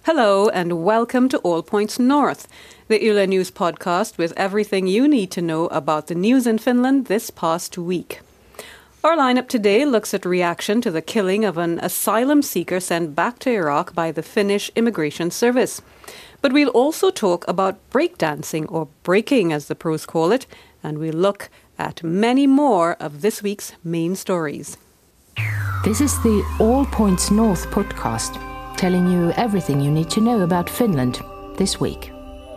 Hello and welcome to All Points North, the Yle News podcast with everything you need to know about the news in Finland this past week. Our lineup today looks at reaction to the killing of an asylum seeker sent back to Iraq by the Finnish Immigration Service. But we'll also talk about breakdancing, or breaking as the pros call it, and we'll look at many more of this week's main stories. This is the All Points North podcast, telling you everything you need to know about Finland this week.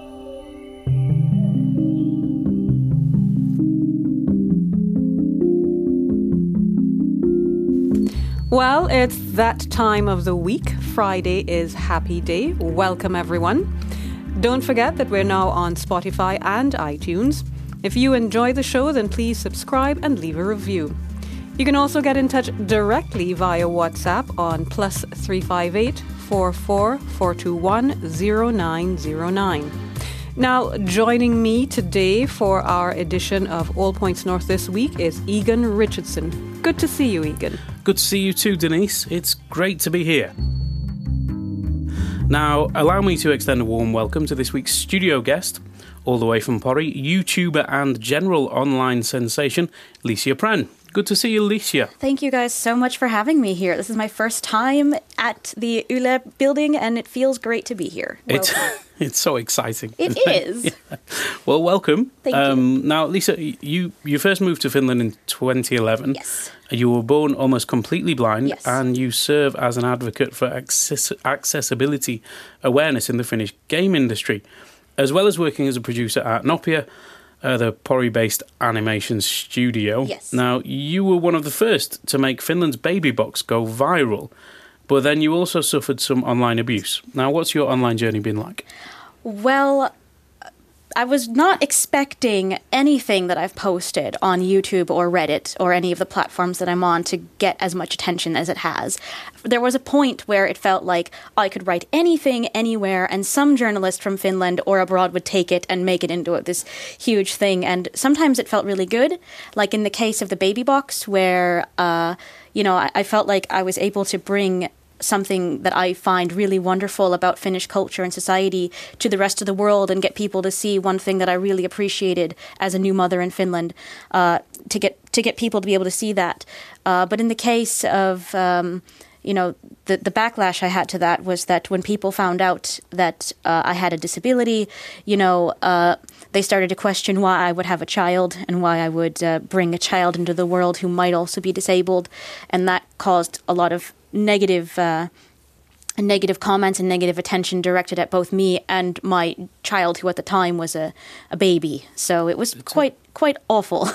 Well, it's that time of the week. Friday is Happy Day. Welcome, everyone. Don't forget that we're now on Spotify and iTunes. If you enjoy the show, then please subscribe and leave a review. You can also get in touch directly via WhatsApp on +358 44 421 0909. Now, joining me today for our edition of All Points North this week is Egan Richardson. Good to see you, Egan. Good to see you too, Denise. It's great to be here. Now, allow me to extend a warm welcome to this week's studio guest, all the way from Pori, YouTuber and general online sensation, Licia Pren. Good to see you, Licia. Thank you guys so much for having me here. This is my first time at the Yle building, and it feels great to be here. It's so exciting. It is. Yeah. Well, welcome. Thank you. Now, Licia, you first moved to Finland in 2011. Yes. You were born almost completely blind, yes. And you serve as an advocate for accessibility awareness in the Finnish game industry, as well as working as a producer at Nopea, the Pori-based animation studio. Yes. Now, you were one of the first to make Finland's Baby Box go viral, but then you also suffered some online abuse. Now, what's your online journey been like? Well, I was not expecting anything that I've posted on YouTube or Reddit or any of the platforms that I'm on to get as much attention as it has. There was a point where it felt like I could write anything anywhere and some journalist from Finland or abroad would take it and make it into this huge thing. And sometimes it felt really good, like in the case of the Baby Box where, I felt like I was able to bring something that I find really wonderful about Finnish culture and society to the rest of the world and get people to see one thing that I really appreciated as a new mother in Finland, to get people to be able to see that. But in the case of, the backlash I had to that was that when people found out that I had a disability, they started to question why I would have a child and why I would bring a child into the world who might also be disabled. And that caused a lot of negative comments and negative attention directed at both me and my child, who at the time was a baby. So it was quite awful.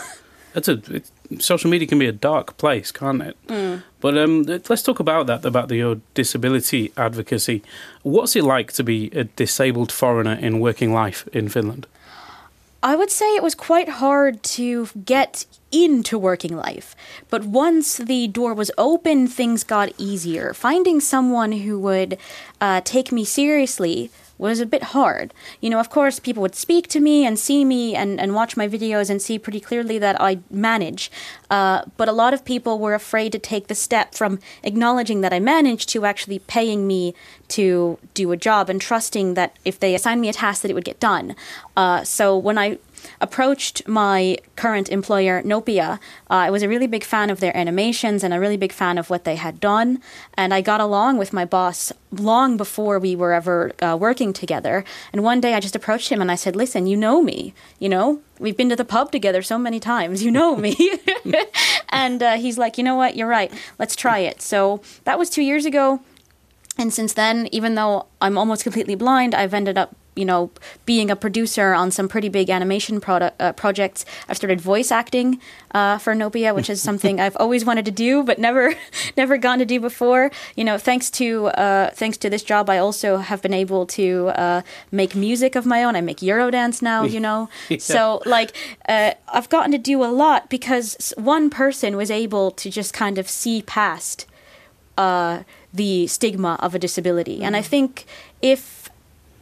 Social media can be a dark place, can't it? Mm. But let's talk about your disability advocacy. What's it like to be a disabled foreigner in working life in Finland? I would say it was quite hard to get into working life. But once the door was open, things got easier. Finding someone who would take me seriously was a bit hard. Of course, people would speak to me and see me and watch my videos and see pretty clearly that I manage. But a lot of people were afraid to take the step from acknowledging that I manage to actually paying me to do a job and trusting that if they assigned me a task that it would get done. So when I approached my current employer, Nopea, I was a really big fan of their animations and a really big fan of what they had done. And I got along with my boss long before we were ever working together. And one day I just approached him and I said, listen, you know me, we've been to the pub together so many times, you know me. And he's like, you know what, you're right, let's try it. So that was 2 years ago. And since then, even though I'm almost completely blind, I've ended up being a producer on some pretty big animation projects. I've started voice acting for Nopea, which is something I've always wanted to do, but never gotten to do before. Thanks to this job, I also have been able to make music of my own. I make Eurodance now, Yeah. So I've gotten to do a lot because one person was able to just kind of see past the stigma of a disability. Mm-hmm. And I think if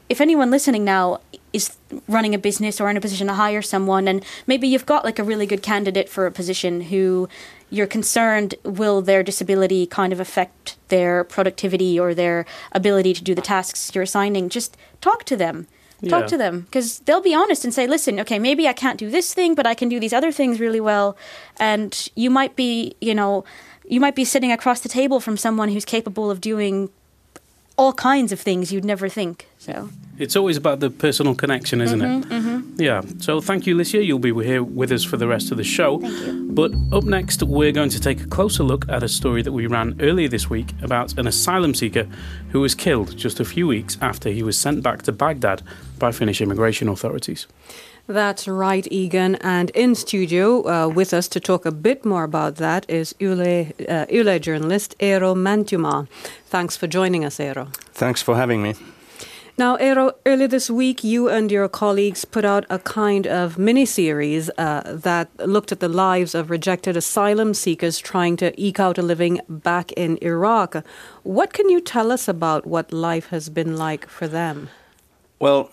if anyone listening now is running a business or in a position to hire someone, and maybe you've got like a really good candidate for a position who you're concerned will their disability kind of affect their productivity or their ability to do the tasks you're assigning, just talk to them. Talk to them, because they'll be honest and say, listen, okay, maybe I can't do this thing, but I can do these other things really well. And you might be, sitting across the table from someone who's capable of doing all kinds of things you'd never think. So it's always about the personal connection, isn't it? Mm-hmm. Yeah. So thank you, Licia. You'll be here with us for the rest of the show. Thank you. But up next, we're going to take a closer look at a story that we ran earlier this week about an asylum seeker who was killed just a few weeks after he was sent back to Baghdad by Finnish immigration authorities. That's right, Egan. And in studio with us to talk a bit more about that is Yle journalist Eero Mäntymaa. Thanks for joining us, Eero. Thanks for having me. Now, Eero, earlier this week, you and your colleagues put out a kind of mini-series that looked at the lives of rejected asylum seekers trying to eke out a living back in Iraq. What can you tell us about what life has been like for them? Well,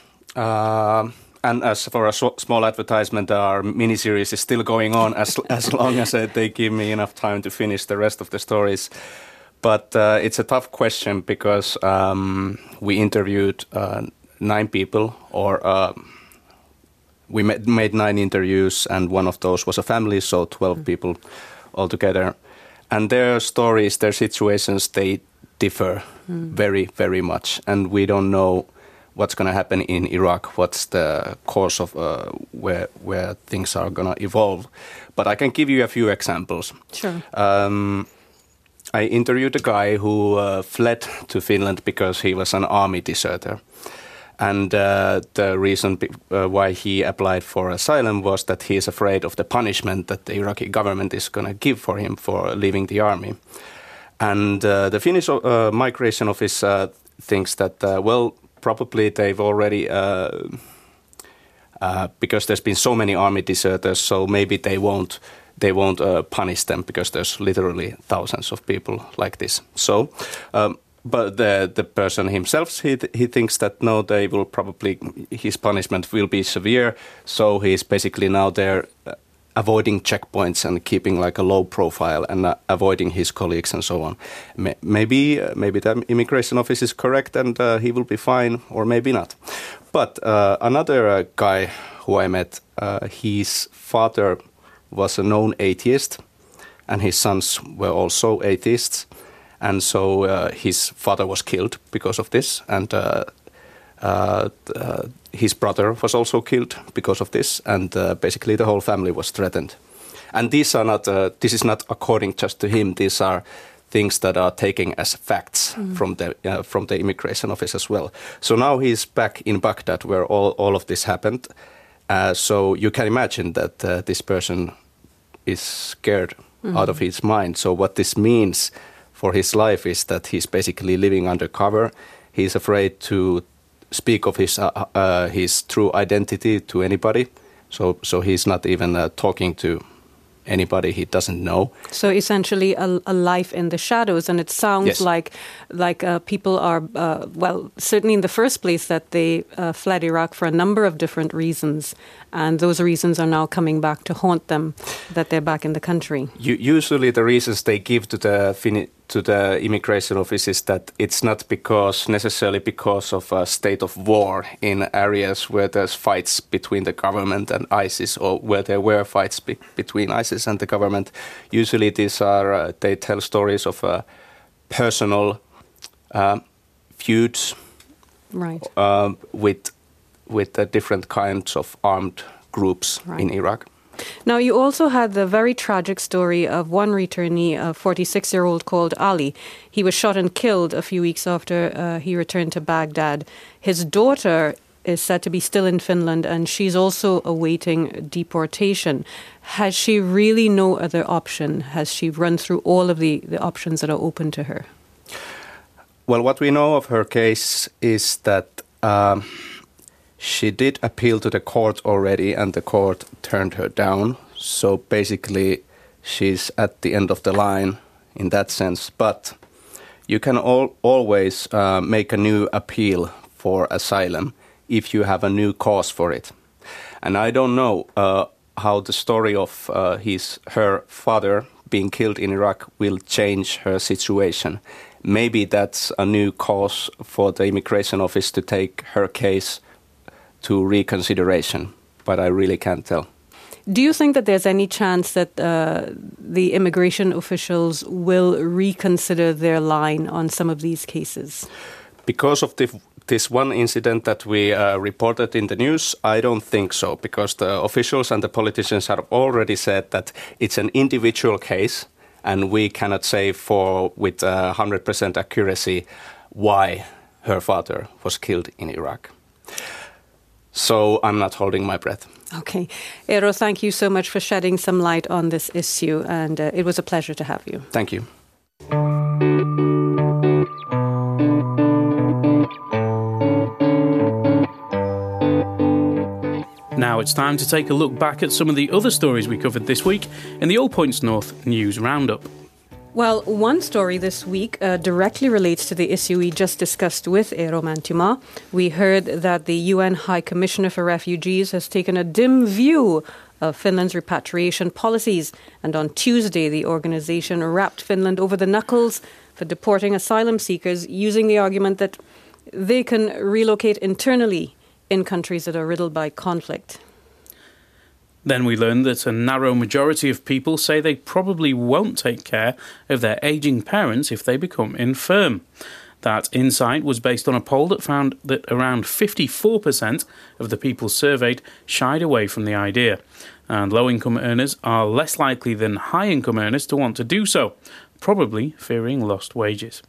and as for a small advertisement, our mini-series is still going on as long as they give me enough time to finish the rest of the stories. But it's a tough question because we interviewed 9 people, or we made 9 interviews, and one of those was a family, so 12 people altogether. And their stories, their situations, they differ very, very much. And we don't know what's going to happen in Iraq, what's the course of where things are going to evolve. But I can give you a few examples. Sure. I interviewed a guy who fled to Finland because he was an army deserter. And the reason why he applied for asylum was that he is afraid of the punishment that the Iraqi government is going to give for him for leaving the army. And the Finnish Migration Office thinks that, probably they've already, because there's been so many army deserters, so maybe they won't punish them because there's literally thousands of people like this. So, but the person himself, he thinks that no, they will probably, his punishment will be severe. So he's basically now there avoiding checkpoints and keeping like a low profile and avoiding his colleagues and so on. Maybe the immigration office is correct and he will be fine, or maybe not. But another guy who I met, his father was a known atheist, and his sons were also atheists, and so his father was killed because of this, and his brother was also killed because of this, and basically the whole family was threatened. And these are not. This is not according just to him. These are things that are taken as facts from the immigration office as well. So now he's back in Baghdad, where all of this happened. So you can imagine that this person is scared out of his mind. So what this means for his life is that he's basically living undercover. He's afraid to speak of his true identity to anybody. So he's not even talking to anybody he doesn't know. So essentially a life in the shadows, and it sounds like people are, certainly in the first place that they fled Iraq for a number of different reasons, and those reasons are now coming back to haunt them, that they're back in the country. Usually the reasons they give to the immigration office is that it's not necessarily because of a state of war in areas where there's fights between the government and ISIS, or where there were fights between ISIS and the government. Usually these are, they tell stories of personal feuds, right, with the different kinds of armed groups in Iraq. Now, you also had the very tragic story of one returnee, a 46-year-old called Ali. He was shot and killed a few weeks after he returned to Baghdad. His daughter is said to be still in Finland, and she's also awaiting deportation. Has she really no other option? Has she run through all of the options that are open to her? Well, what we know of her case is that she did appeal to the court already, and the court turned her down. So basically, she's at the end of the line in that sense. But you can always make a new appeal for asylum if you have a new cause for it. And I don't know how the story of her father being killed in Iraq will change her situation. Maybe that's a new cause for the immigration office to take her case to reconsideration, but I really can't tell. Do you think that there's any chance that the immigration officials will reconsider their line on some of these cases? Because of this one incident that we reported in the news, I don't think so, because the officials and the politicians have already said that it's an individual case, and we cannot say with 100% accuracy why her father was killed in Iraq. So I'm not holding my breath. Okay. Eero, thank you so much for shedding some light on this issue, and it was a pleasure to have you. Thank you. Now it's time to take a look back at some of the other stories we covered this week in the All Points North News Roundup. Well, one story this week directly relates to the issue we just discussed with Eero Mäntymaa. We heard that the UN High Commissioner for Refugees has taken a dim view of Finland's repatriation policies. And on Tuesday, the organisation rapped Finland over the knuckles for deporting asylum seekers using the argument that they can relocate internally in countries that are riddled by conflict. Then we learned that a narrow majority of people say they probably won't take care of their ageing parents if they become infirm. That insight was based on a poll that found that around 54% of the people surveyed shied away from the idea. And low-income earners are less likely than high-income earners to want to do so, probably fearing lost wages.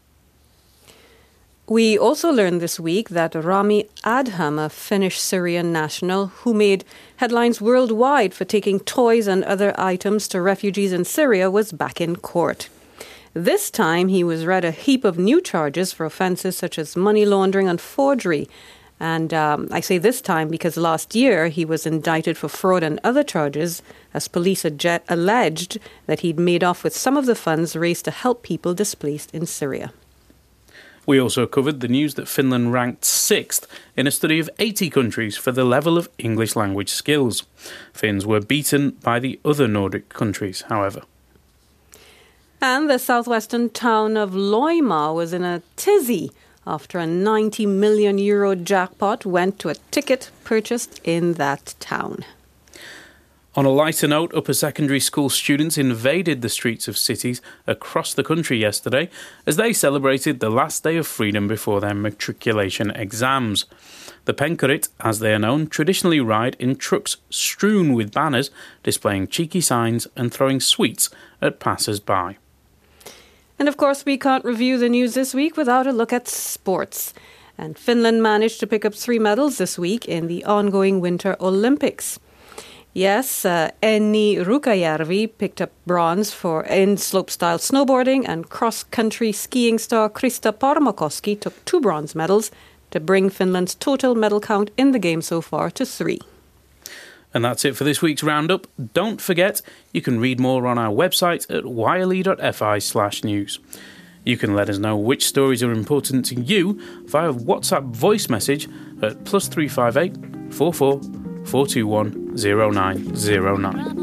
We also learned this week that Rami Adham, a Finnish Syrian national who made headlines worldwide for taking toys and other items to refugees in Syria, was back in court. This time he was read a heap of new charges for offences such as money laundering and forgery. And I say this time because last year he was indicted for fraud and other charges as police alleged that he'd made off with some of the funds raised to help people displaced in Syria. We also covered the news that Finland ranked 6th in a study of 80 countries for the level of English language skills. Finns were beaten by the other Nordic countries, however. And the southwestern town of Loimaa was in a tizzy after a €90 million jackpot went to a ticket purchased in that town. On a lighter note, upper secondary school students invaded the streets of cities across the country yesterday as they celebrated the last day of freedom before their matriculation exams. The Penkarit, as they are known, traditionally ride in trucks strewn with banners displaying cheeky signs and throwing sweets at passers-by. And of course, we can't review the news this week without a look at sports. And Finland managed to pick up 3 medals this week in the ongoing Winter Olympics. Yes, Enni Rukajärvi picked up bronze in slopestyle snowboarding, and cross-country skiing star Krista Parmakoski took 2 bronze medals to bring Finland's total medal count in the game so far to 3. And that's it for this week's Roundup. Don't forget, you can read more on our website at yle.fi/news. You can let us know which stories are important to you via WhatsApp voice message at +358 44 421 0909.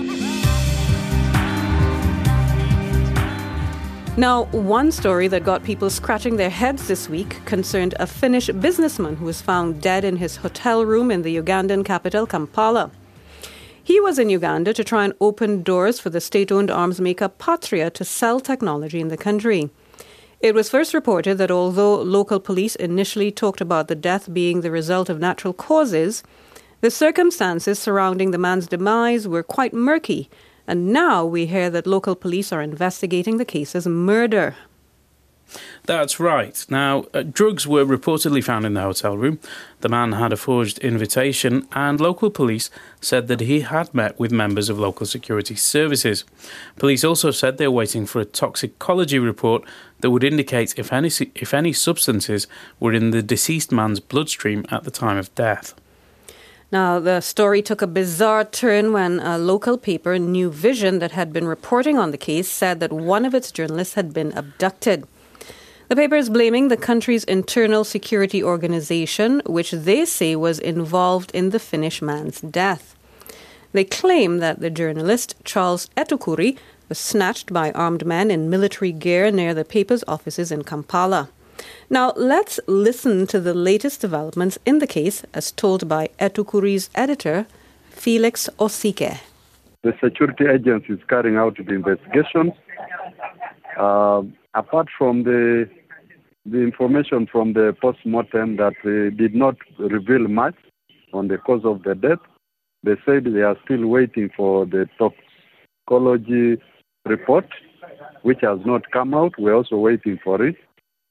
Now, one story that got people scratching their heads this week concerned a Finnish businessman who was found dead in his hotel room in the Ugandan capital, Kampala. He was in Uganda to try and open doors for the state-owned arms maker Patria to sell technology in the country. It was first reported that although local police initially talked about the death being the result of natural causes, the circumstances surrounding the man's demise were quite murky, and now we hear that local police are investigating the case as murder. That's right. Now, drugs were reportedly found in the hotel room. The man had a forged invitation, and local police said that he had met with members of local security services. Police also said they're waiting for a toxicology report that would indicate if any substances were in the deceased man's bloodstream at the time of death. Now, the story took a bizarre turn when a local paper, New Vision, that had been reporting on the case said that one of its journalists had been abducted. The paper is blaming the country's internal security organization, which they say was involved in the Finnish man's death. They claim that the journalist Charles Etukuri was snatched by armed men in military gear near the paper's offices in Kampala. Now, let's listen to the latest developments in the case as told by Etukuri's editor, Felix Osike. The security agency is carrying out the investigation. Apart from the information from the post-mortem that did not reveal much on the cause of the death, they said they are still waiting for the toxicology report, which has not come out. We're also waiting for it.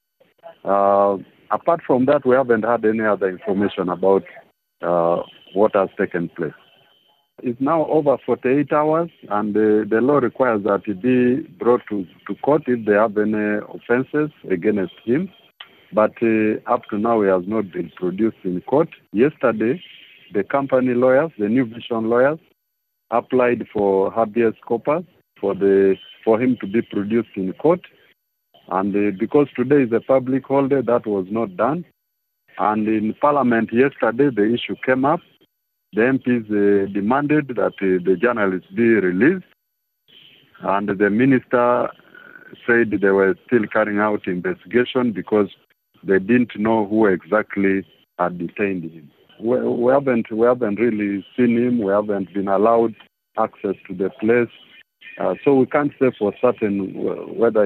Apart from that, we haven't had any other information about what has taken place. It's now over 48 hours, and the law requires that it be brought to court if they have any offences against him. But up to now, he has not been produced in court. Yesterday, the company lawyers, the New Vision lawyers, applied for habeas corpus for him to be produced in court. And because today is a public holiday, that was not done. And in Parliament yesterday, the issue came up. The MPs demanded that the journalists be released, and the minister said they were still carrying out investigation because they didn't know who exactly had detained him. We haven't really seen him. We haven't been allowed access to the place, so we can't say for certain whether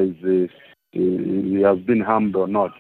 he has been harmed or not.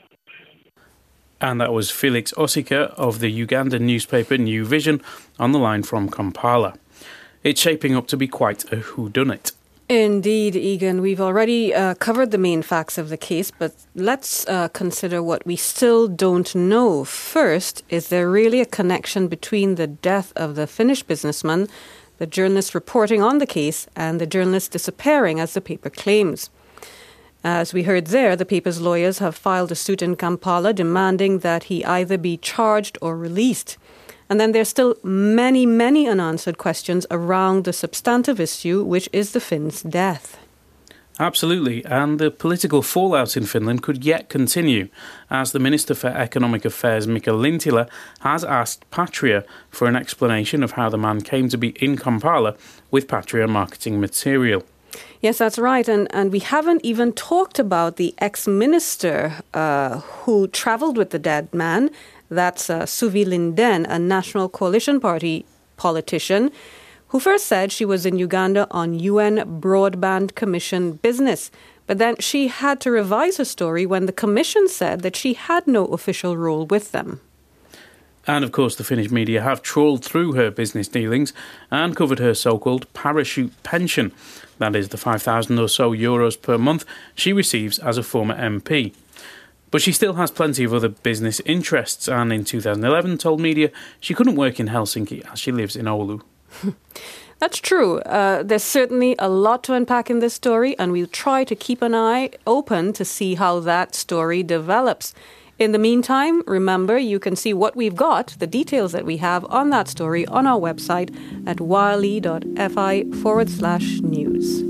And that was Felix Osike of the Ugandan newspaper New Vision on the line from Kampala. It's shaping up to be quite a whodunit. Indeed, Egan. We've already covered the main facts of the case, but let's consider what we still don't know. First, is there really a connection between the death of the Finnish businessman, the journalist reporting on the case, and the journalist disappearing, as the paper claims? As we heard there, the paper's lawyers have filed a suit in Kampala demanding that he either be charged or released. And then there's still many, many unanswered questions around the substantive issue, which is the Finn's death. Absolutely, and the political fallout in Finland could yet continue, as the Minister for Economic Affairs, Mika Lintilä, has asked Patria for an explanation of how the man came to be in Kampala with Patria marketing material. Yes, that's right. And we haven't even talked about the ex-minister who travelled with the dead man. That's Suvi Lindén, a National Coalition Party politician, who first said she was in Uganda on UN Broadband Commission business. But then she had to revise her story when the Commission said that she had no official role with them. And of course the Finnish media have trawled through her business dealings and covered her so-called parachute pension. That is the 5,000 or so euros per month she receives as a former MP. But she still has plenty of other business interests, and in 2011 told media she couldn't work in Helsinki as she lives in Oulu. That's true. There's certainly a lot to unpack in this story, and we'll try to keep an eye open to see how that story develops. In the meantime, remember, you can see what we've got, the details that we have on that story on our website at yle.fi/news.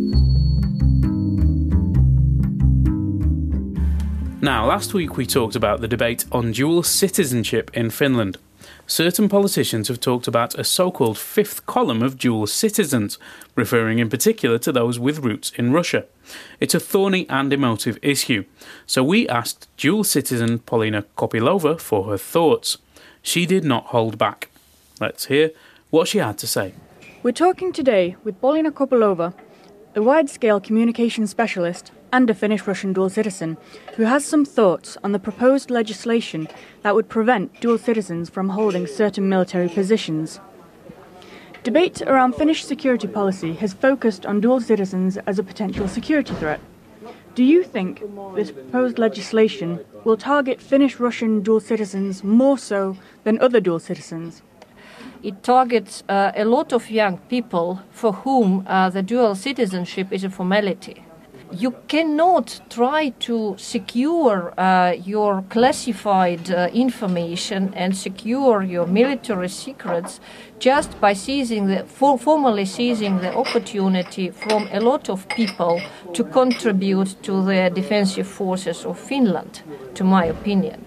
Now, last week we talked about the debate on dual citizenship in Finland. Certain politicians have talked about a so-called fifth column of dual citizens, referring in particular to those with roots in Russia. It's a thorny and emotive issue, so we asked dual citizen Polina Kopylova for her thoughts. She did not hold back. Let's hear what she had to say. We're talking today with Polina Kopylova, a wide-scale communication specialist and a Finnish-Russian dual citizen, who has some thoughts on the proposed legislation that would prevent dual citizens from holding certain military positions. Debate around Finnish security policy has focused on dual citizens as a potential security threat. Do you think this proposed legislation will target Finnish-Russian dual citizens more so than other dual citizens? It targets a lot of young people for whom the dual citizenship is a formality. you cannot try to secure your classified information and secure your military secrets just by formally seizing the opportunity from a lot of people to contribute to the defensive forces of Finland, to my opinion.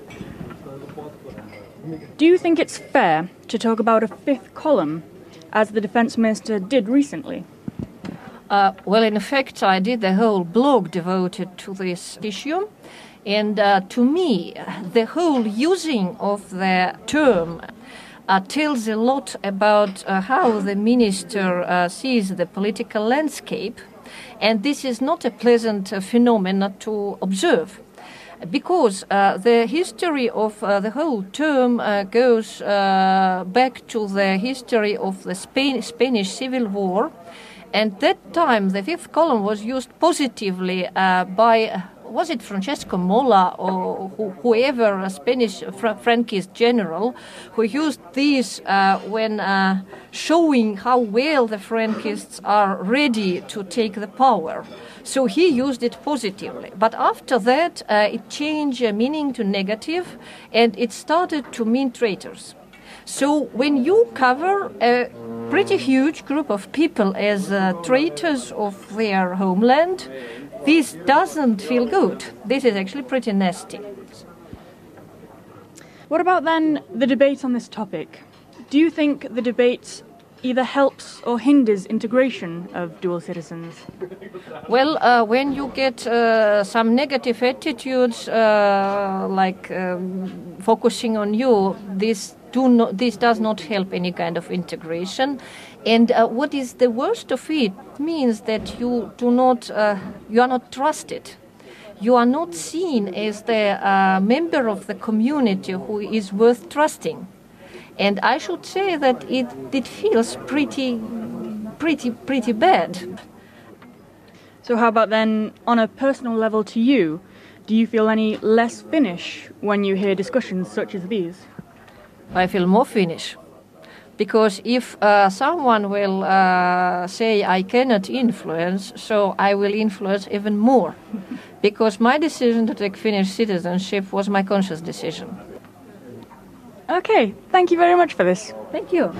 Do you think it's fair to talk about a fifth column, as the defense minister did recently? Well, in effect, I did the whole blog devoted to this issue. And to me, the whole using of the term tells a lot about how the minister sees the political landscape. And this is not a pleasant phenomenon to observe. Because the history of the whole term goes back to the history of the Spanish Civil War. And that time, the fifth column was used positively by, was it Francesco Mola or whoever, a Spanish Franquist general, who used these when showing how well the Franquists are ready to take the power. So he used it positively. But after that, it changed meaning to negative, and it started to mean traitors. So when you cover a pretty huge group of people as traitors of their homeland, this doesn't feel good. This is actually pretty nasty. What about then the debate on this topic? Do you think the debate either helps or hinders integration of dual citizens? Well, when you get some negative attitudes, like focusing on you, this does not help any kind of integration. And what is the worst of it means that you are not trusted. You are not seen as the member of the community who is worth trusting. And I should say that it feels pretty bad. So how about then, on a personal level to you, do you feel any less Finnish when you hear discussions such as these? I feel more Finnish. Because if someone will say I cannot influence, so I will influence even more. Because my decision to take Finnish citizenship was my conscious decision. Okay, thank you very much for this. Thank you.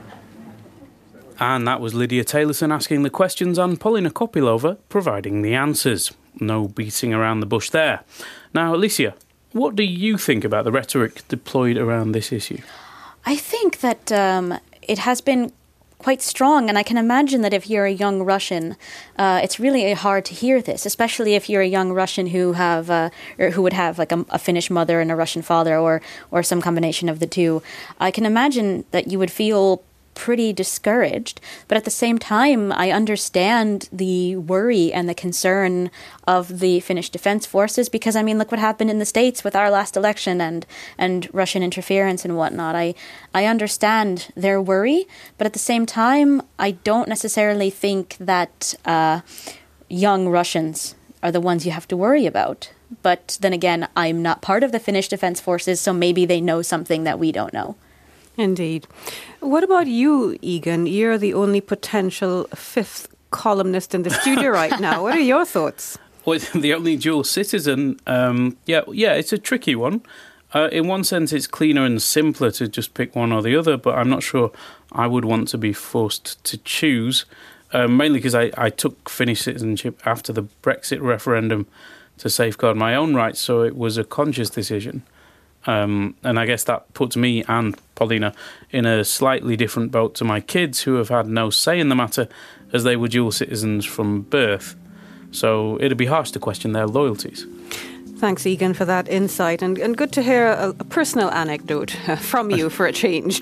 And that was Lydia Taylorson asking the questions and Polina Kopylova providing the answers. No beating around the bush there. Now, Alicia, what do you think about the rhetoric deployed around this issue? I think that it has been quite strong, and I can imagine that if you're a young Russian, it's really hard to hear this, especially if you're a young Russian who would have like a Finnish mother and a Russian father, or some combination of the two. I can imagine that you would feel pretty discouraged, but at the same time, I understand the worry and the concern of the Finnish Defense Forces, because I mean, look what happened in the States with our last election and Russian interference and whatnot. I understand their worry, but at the same time, I don't necessarily think that young Russians are the ones you have to worry about. But then again, I'm not part of the Finnish Defense Forces, so maybe they know something that we don't know. Indeed. What about you, Egan? You're the only potential fifth columnist in the studio right now. What are your thoughts? Well, the only dual citizen, it's a tricky one. In one sense, it's cleaner and simpler to just pick one or the other, but I'm not sure I would want to be forced to choose, mainly because I took Finnish citizenship after the Brexit referendum to safeguard my own rights, so it was a conscious decision. And I guess that puts me and Polina in a slightly different boat to my kids, who have had no say in the matter, as they were dual citizens from birth. So it'd be harsh to question their loyalties. Thanks, Egan, for that insight. And good to hear a personal anecdote from you for a change.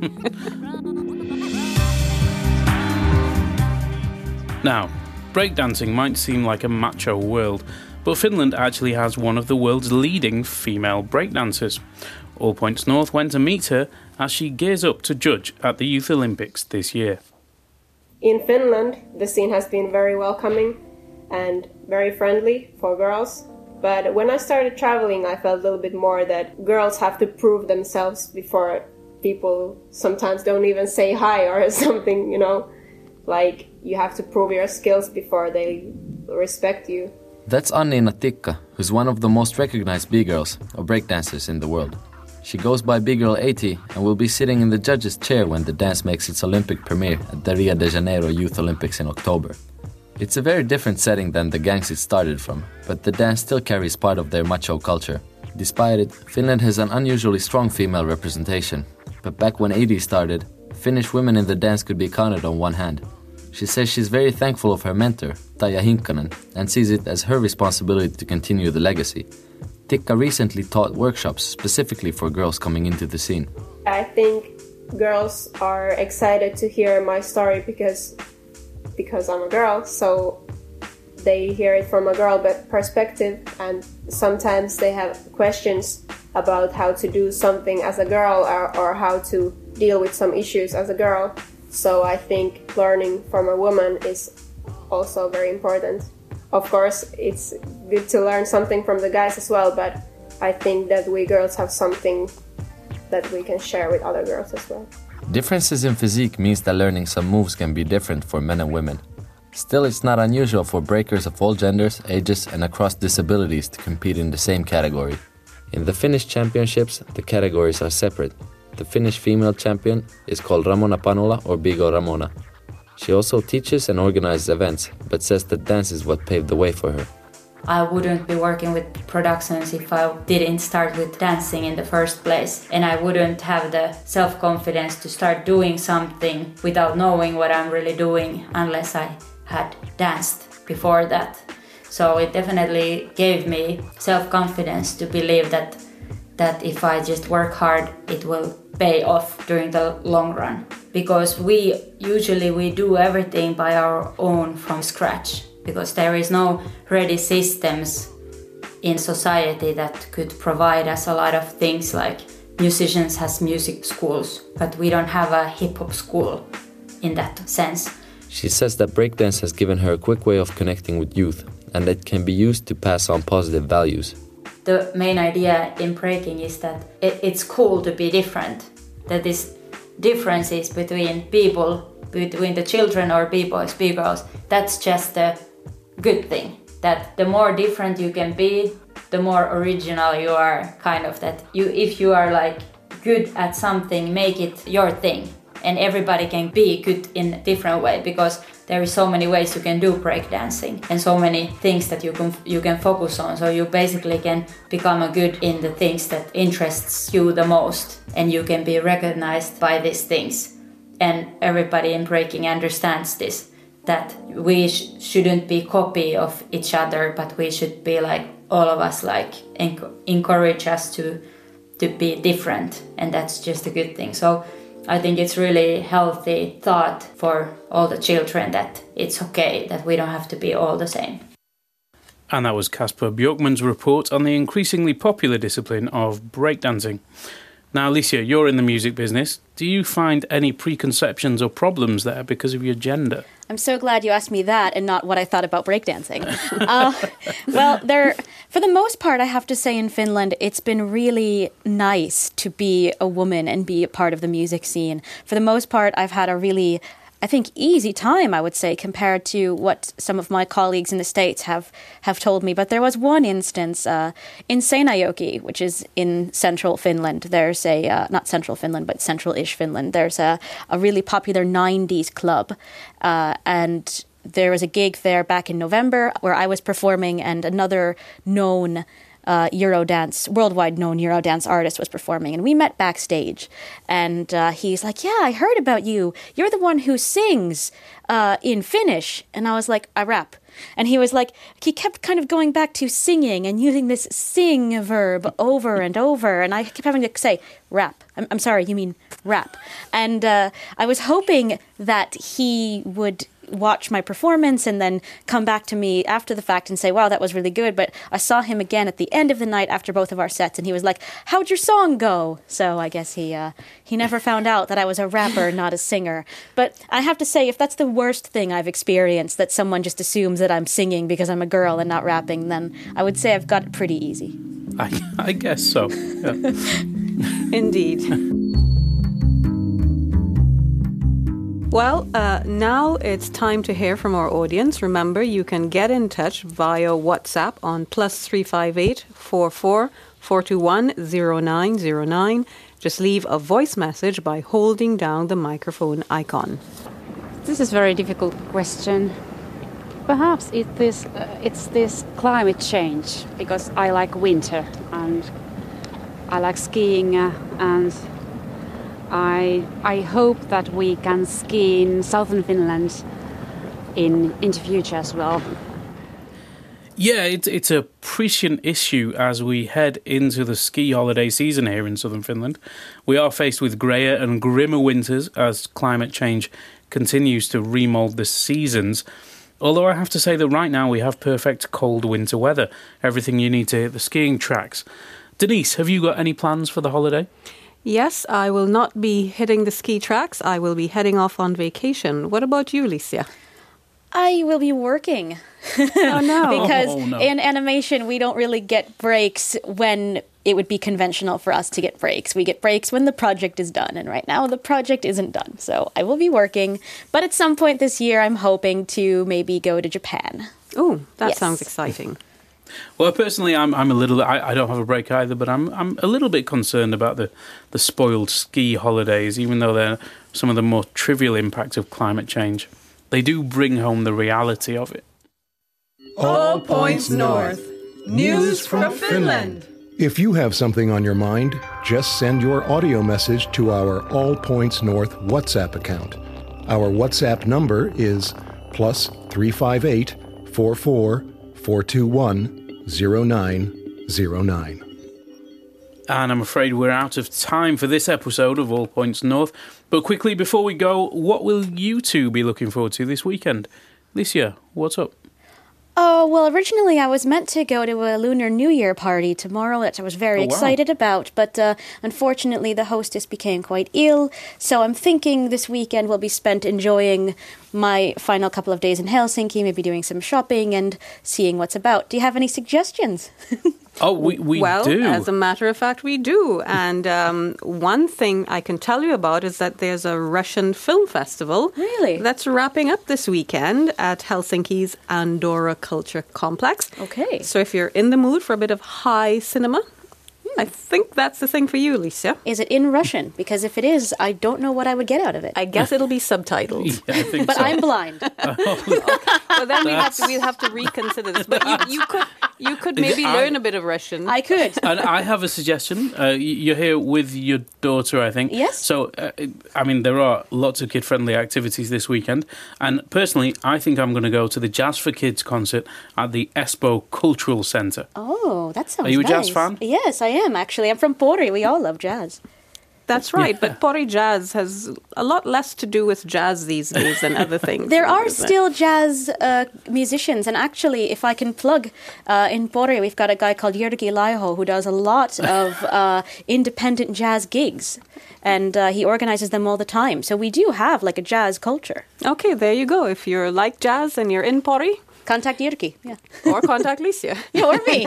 Now, breakdancing might seem like a macho world, but Finland actually has one of the world's leading female breakdancers. All Points North went to meet her as she gears up to judge at the Youth Olympics this year. In Finland, the scene has been very welcoming and very friendly for girls. But when I started traveling, I felt a little bit more that girls have to prove themselves before people sometimes don't even say hi or something, you know. Like, you have to prove your skills before they respect you. That's Anniina Tikka, who's one of the most recognized B-girls, or breakdancers, in the world. She goes by B-Girl 80 and will be sitting in the judge's chair when the dance makes its Olympic premiere at the Rio de Janeiro Youth Olympics in October. It's a very different setting than the gangs it started from, but the dance still carries part of their macho culture. Despite it, Finland has an unusually strong female representation. But back when 80 started, Finnish women in the dance could be counted on one hand. She says she's very thankful of her mentor, Taija Hinkkanen, and sees it as her responsibility to continue the legacy. Tikka recently taught workshops specifically for girls coming into the scene. I think girls are excited to hear my story because I'm a girl, so they hear it from a girl perspective, and sometimes they have questions about how to do something as a girl or how to deal with some issues as a girl. So I think learning from a woman is also very important. Of course, it's good to learn something from the guys as well, but I think that we girls have something that we can share with other girls as well. Differences in physique means that learning some moves can be different for men and women. Still, it's not unusual for breakers of all genders, ages, and across disabilities to compete in the same category. In the Finnish championships, the categories are separate. The Finnish female champion is called Ramona Panula or B-Girl Ramona. She also teaches and organizes events, but says that dance is what paved the way for her. I wouldn't be working with productions if I didn't start with dancing in the first place. And I wouldn't have the self-confidence to start doing something without knowing what I'm really doing unless I had danced before that. So it definitely gave me self-confidence to believe that if I just work hard, it will pay off during the long run. Because we usually do everything by our own from scratch. Because there is no ready systems in society that could provide us a lot of things, like musicians has music schools, but we don't have a hip-hop school in that sense. She says that breakdance has given her a quick way of connecting with youth, and it can be used to pass on positive values. The main idea in breaking is that it's cool to be different, that these differences between people, between the children or B-boys, B-girls, that's just a good thing. That the more different you can be, the more original you are, kind of that if you are like good at something, make it your thing. And everybody can be good in a different way, because there is so many ways you can do breakdancing and so many things that you can focus on. So you basically can become a good in the things that interests you the most, and you can be recognized by these things. And everybody in breaking understands this, that we shouldn't be copy of each other, but we should be like all of us, like encourage us to be different, and that's just a good thing. So I think it's really healthy thought for all the children that it's okay, that we don't have to be all the same. And that was Kasper Björkman's report on the increasingly popular discipline of breakdancing. Now, Alicia, you're in the music business. Do you find any preconceptions or problems there because of your gender? I'm so glad you asked me that and not what I thought about breakdancing. Well, for the most part, I have to say in Finland, it's been really nice to be a woman and be a part of the music scene. For the most part, I've had a really, I think, easy time, I would say, compared to what some of my colleagues in the States have told me. But there was one instance in Seinäjoki, which is in central Finland. There's not central Finland, but central-ish Finland. There's a really popular 90s club. And there was a gig there back in November where I was performing, and another known worldwide known Eurodance artist was performing, and we met backstage, and he's like, "Yeah, I heard about you. You're the one who sings in Finnish." And I was like, "I rap." And he was like, he kept kind of going back to singing and using this sing verb over and over, and I kept having to say, "Rap. I'm sorry, you mean rap." And I was hoping that he would watch my performance and then come back to me after the fact and say, "Wow, that was really good." But I saw him again at the end of the night after both of our sets, and he was like, "How'd your song go?" So I guess he never found out that I was a rapper, not a singer. But I have to say, if that's the worst thing I've experienced, that someone just assumes that I'm singing because I'm a girl and not rapping, then I would say I've got it pretty easy. I guess so. Yeah. Indeed. Well, now it's time to hear from our audience. Remember, you can get in touch via WhatsApp on +358 44 421 0909. Just leave a voice message by holding down the microphone icon. This is a very difficult question. Perhaps it's this climate change, because I like winter and I like skiing and I hope that we can ski in southern Finland in the future as well. Yeah, it's a prescient issue as we head into the ski holiday season here in southern Finland. We are faced with greyer and grimmer winters as climate change continues to remould the seasons. Although I have to say that right now we have perfect cold winter weather, everything you need to hit the skiing tracks. Denise, have you got any plans for the holiday? Yes, I will not be hitting the ski tracks. I will be heading off on vacation. What about you, Licia? I will be working. Oh, no. Because in animation, we don't really get breaks when it would be conventional for us to get breaks. We get breaks when the project is done. And right now, the project isn't done. So I will be working. But at some point this year, I'm hoping to maybe go to Japan. Oh, that sounds exciting. Well, personally, I'm a little. I don't have a break either, but I'm a little bit concerned about the spoiled ski holidays, even though they're some of the more trivial impacts of climate change. They do bring home the reality of it. All Points North. News from Finland. If you have something on your mind, just send your audio message to our All Points North WhatsApp account. Our WhatsApp number is +358 44 421 0909. And I'm afraid we're out of time for this episode of All Points North. But quickly, before we go, what will you two be looking forward to this weekend? Licia, what's up? Oh, well, originally I was meant to go to a Lunar New Year party tomorrow that I was very excited about, but unfortunately the hostess became quite ill, so I'm thinking this weekend will be spent enjoying my final couple of days in Helsinki, maybe doing some shopping and seeing what's about. Do you have any suggestions? Oh, we do. Well, as a matter of fact, we do. And one thing I can tell you about is that there's a Russian film festival. Really? That's wrapping up this weekend at Helsinki's Andorra Culture Complex. Okay. So if you're in the mood for a bit of high cinema, I think that's the thing for you, Licia. Is it in Russian? Because if it is, I don't know what I would get out of it. I guess it'll be subtitled. Yeah, I think but so. I'm blind. Well, then we'll have to reconsider this. But you could maybe learn a bit of Russian. I could. And I have a suggestion. You're here with your daughter, I think. Yes. So, I mean, there are lots of kid-friendly activities this weekend. And personally, I think I'm going to go to the Jazz for Kids concert at the Espoo Cultural Centre. Oh, that sounds nice. Are you a jazz fan? Yes, I am, actually. I'm from Pori. We all love jazz. That's right, but Pori Jazz has a lot less to do with jazz these days than other things. There are still jazz musicians, and actually, if I can plug, in Pori, we've got a guy called Jyrki Laiho who does a lot of independent jazz gigs, and he organizes them all the time. So we do have like a jazz culture. Okay, there you go. If you're like jazz and you're in Pori, contact Jyrki. Yeah. Or contact Licia. Yeah, or me.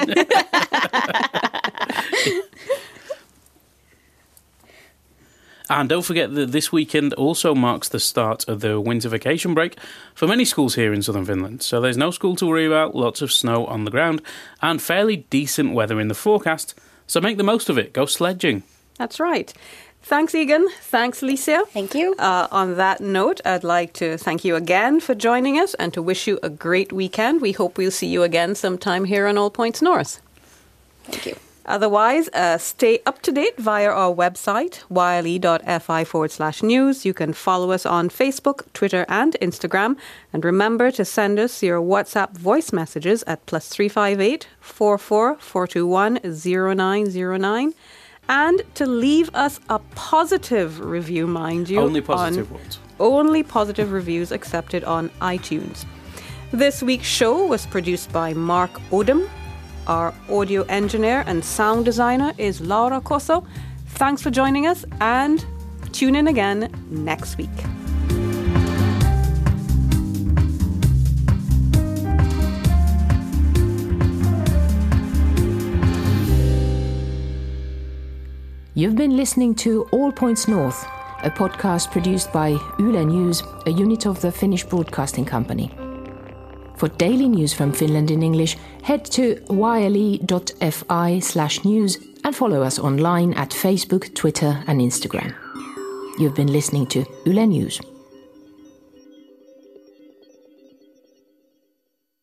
And don't forget that this weekend also marks the start of the winter vacation break for many schools here in southern Finland. So there's no school to worry about, lots of snow on the ground, and fairly decent weather in the forecast. So make the most of it. Go sledging. That's right. Thanks, Egan. Thanks, Licia. Thank you. On that note, I'd like to thank you again for joining us and to wish you a great weekend. We hope we'll see you again sometime here on All Points North. Thank you. Otherwise, stay up to date via our website, yle.fi/news. You can follow us on Facebook, Twitter, and Instagram. And remember to send us your WhatsApp voice messages at +358 44 421 0909. And to leave us a positive review, mind you. Only positive ones. Only positive reviews accepted on iTunes. This week's show was produced by Mark Odom. Our audio engineer and sound designer is Laura Koso. Thanks for joining us and tune in again next week. You've been listening to All Points North, a podcast produced by Yle News, a unit of the Finnish Broadcasting Company. For daily news from Finland in English, head to yle.fi/news and follow us online at Facebook, Twitter and Instagram. You've been listening to Yle News.